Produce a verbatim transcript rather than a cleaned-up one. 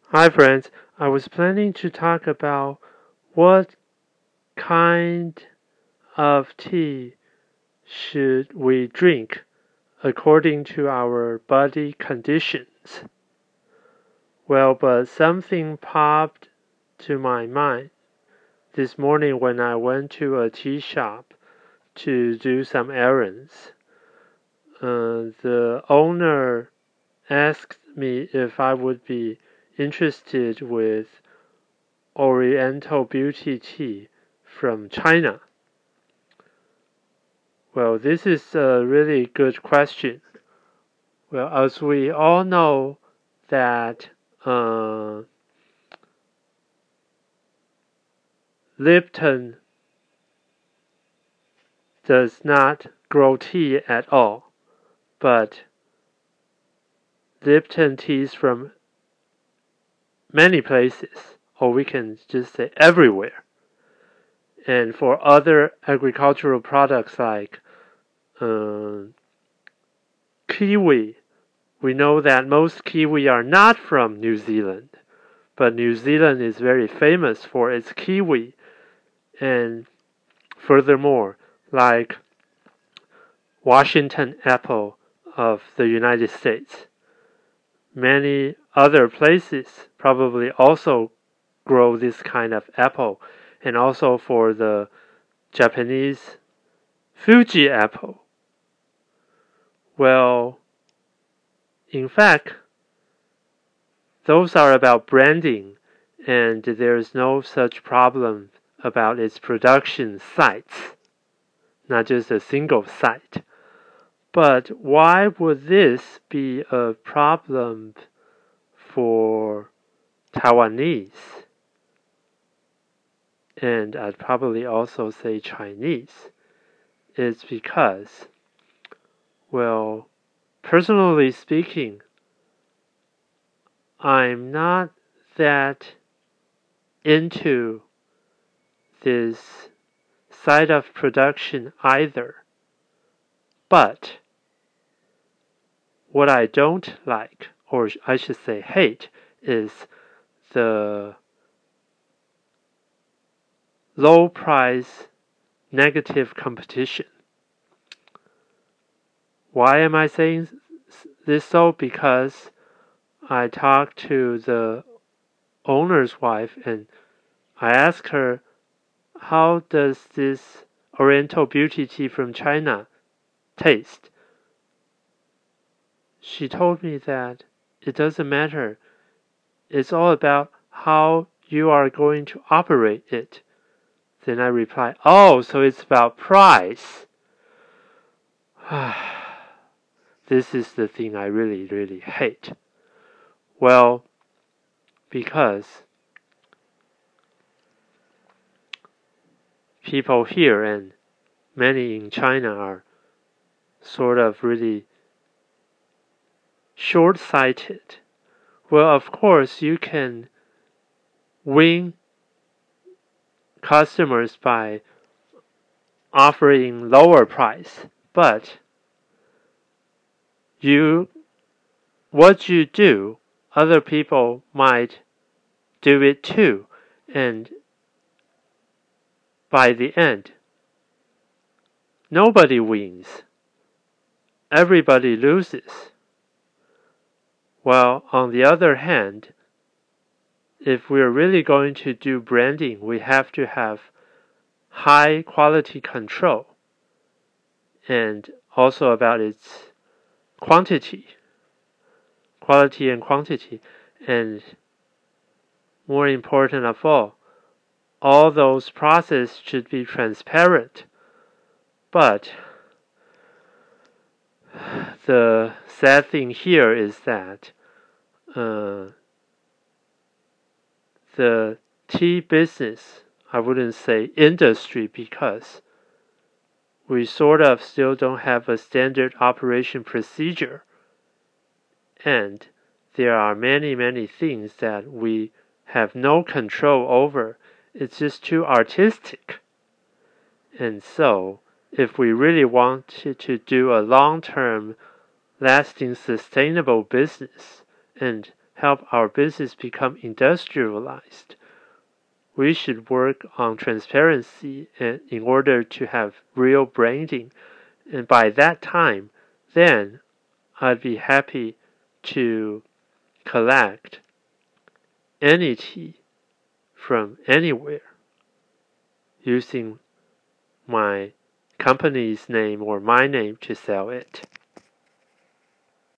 Hi friends, I was planning to talk about what kind of tea should we drink according to our body conditions. Well, but something popped to my mind this morning when I went to a tea shop to do some errands. Uh, the owner asked me if I would be interested with Oriental Beauty Tea from China. Well, this is a really good question. Well, as we all know that uh, Lipton does not grow tea at all, but Lipton teas from many places, or we can just say everywhere. And for other agricultural products like uh, kiwi, we know that most kiwi are not from New Zealand, but New Zealand is very famous for its kiwi. And furthermore, like Washington apple of the United States, many other places probably also grow this kind of apple, and also for the Japanese Fuji apple. Well, in fact, those are about branding, and there's no such problem about its production sites, not just a single site. But why would this be a problem for Taiwanese? And I'd probably also say Chinese. It's because, well, personally speaking, I'm not that into this side of production either. But what I don't like, or I should say hate, is the low price negative competition. Why am I saying this so? Because I talked to the owner's wife and I asked her, how does this Oriental Beauty Tea from China taste? She told me that it doesn't matter. It's all about how you are going to operate it. Then I replied, oh, so it's about price. This is the thing I really, really hate. Well, because people here and many in China are sort of really short-sighted. Well, of course, you can win customers by offering lower price, but you, what you do, other people might do it too, and by the end, nobody wins. Everybody loses. While on the other hand, if we're really going to do branding, we have to have high quality control and also about its quantity, quality and quantity, and more important of all, all those processes should be transparent. But the sad thing here is that uh, the tea business, I wouldn't say industry, because we sort of still don't have a standard operation procedure. And there are many, many things that we have no control over. It's just too artistic. And so, if we really want to, to do a long-term, lasting, sustainable business and help our business become industrialized, we should work on transparency and in order to have real branding. And by that time, then I'd be happy to collect any tea from anywhere using my company's name or my name to sell it.